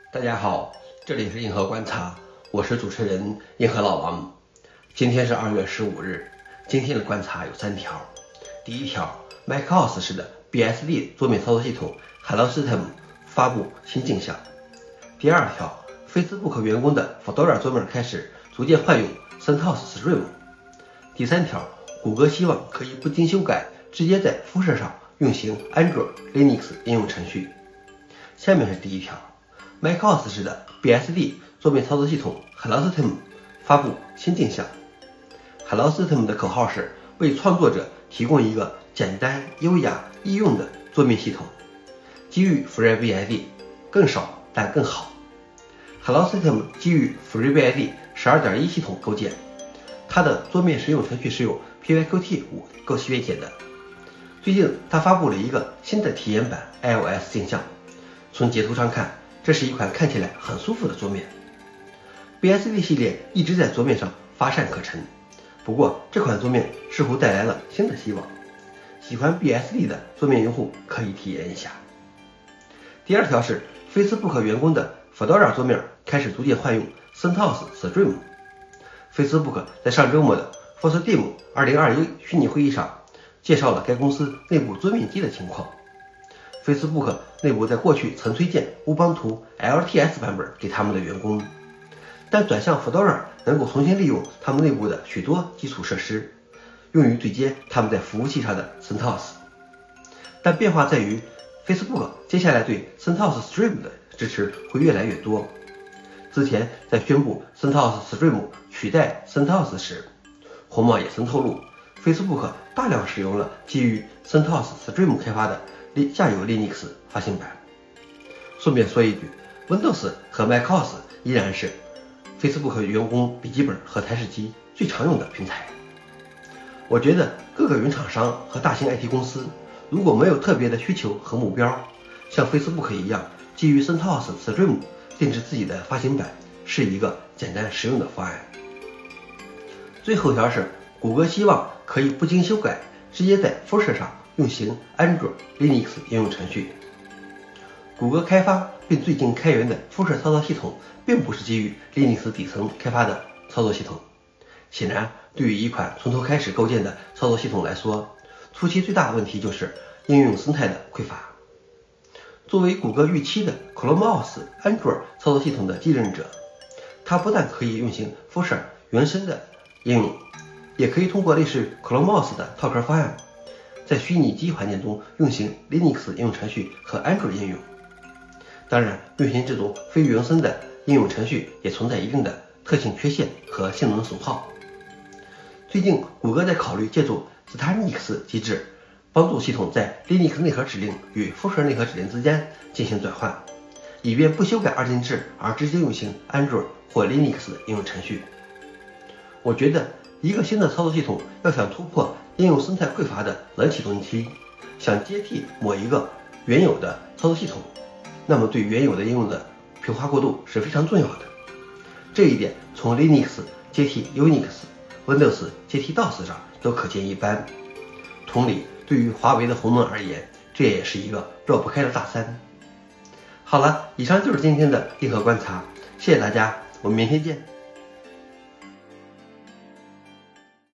大家好，这里是硬核观察，我是主持人硬核老王。今天是2月15日，今天的观察有3条。第一条 ，macOS 式的 BSD 桌面操作系统 Hello System 发布新镜像。第二条 ，Facebook 员工的 Fedora 桌面开始逐渐换用 CentOS Stream。第三条，谷歌希望可以不经修改，直接在辐射上运行 Android Linux 应用程序。下面是第一条。macOS 式的 BSD 桌面操作系统 Hello System 发布新镜像。Hello System 的口号是为创作者提供一个简单、优雅、易用的桌面系统，基于 FreeBSD， 更少但更好。Hello System 基于 FreeBSD 12.1 系统构建，它的桌面实用程序是由 PyQt 5编写的。最近它发布了一个新的体验版 iOS 镜像，从截图上看，这是一款看起来很舒服的桌面。BSD 系列一直在桌面上乏善可陈，不过这款桌面似乎带来了新的希望，喜欢 BSD 的桌面用户可以体验一下。第二条是 Facebook 员工的 Fedora 桌面开始逐渐换用 CentOS Stream。Facebook 在上周末的 FOSDEM 2021虚拟会议上介绍了该公司内部桌面机的情况。Facebook 内部在过去曾推荐乌邦图 LTS 版本给他们的员工，但转向 Fedora 能够重新利用他们内部的许多基础设施，用于对接他们在服务器上的 CentOS。但变化在于 Facebook 接下来对 CentOS Stream 的支持会越来越多。之前在宣布 CentOS Stream 取代 CentOS 时，红帽也曾透露 Facebook 大量使用了基于 CentOS Stream 开发的下游 Linux 发行版。顺便说一句， Windows 和 macOS 依然是 Facebook 员工笔记本和台式机最常用的平台。我觉得各个云厂商和大型 IT 公司如果没有特别的需求和目标，像 Facebook 一样基于 CentOS Stream 定制自己的发行版是一个简单实用的方案。最后一条是谷歌希望可以不经修改，直接在辐射上运行 Android Linux 应用程序。谷歌开发并最近开源的辐射操作系统并不是基于 Linux 底层开发的操作系统。显然，对于一款从头开始构建的操作系统来说，初期最大的问题就是应用生态的匮乏。作为谷歌预期的 ChromeOS Android 操作系统的继任者，它不但可以运行辐射原生的应用，也可以通过类似 ChromeOS 的套壳方案，在虚拟机环境中运行 Linux 应用程序和 Android 应用。当然，运行这种非原生的应用程序也存在一定的特性缺陷和性能损耗。最近，谷歌在考虑借助 Starinx 机制，帮助系统在 Linux 内核指令与辐射内核指令之间进行转换，以便不修改二进制而直接运行 Android 或 Linux 应用程序。我觉得一个新的操作系统要想突破应用生态匮乏的冷启动期，想接替某一个原有的操作系统，那么对原有的应用的平滑过渡是非常重要的。这一点从 Linux 接替 Unix、Windows 接替 DOS 上都可见一斑。同理，对于华为的鸿蒙而言，这也是一个绕不开的大山。好了，以上就是今天的硬核观察，谢谢大家，我们明天见。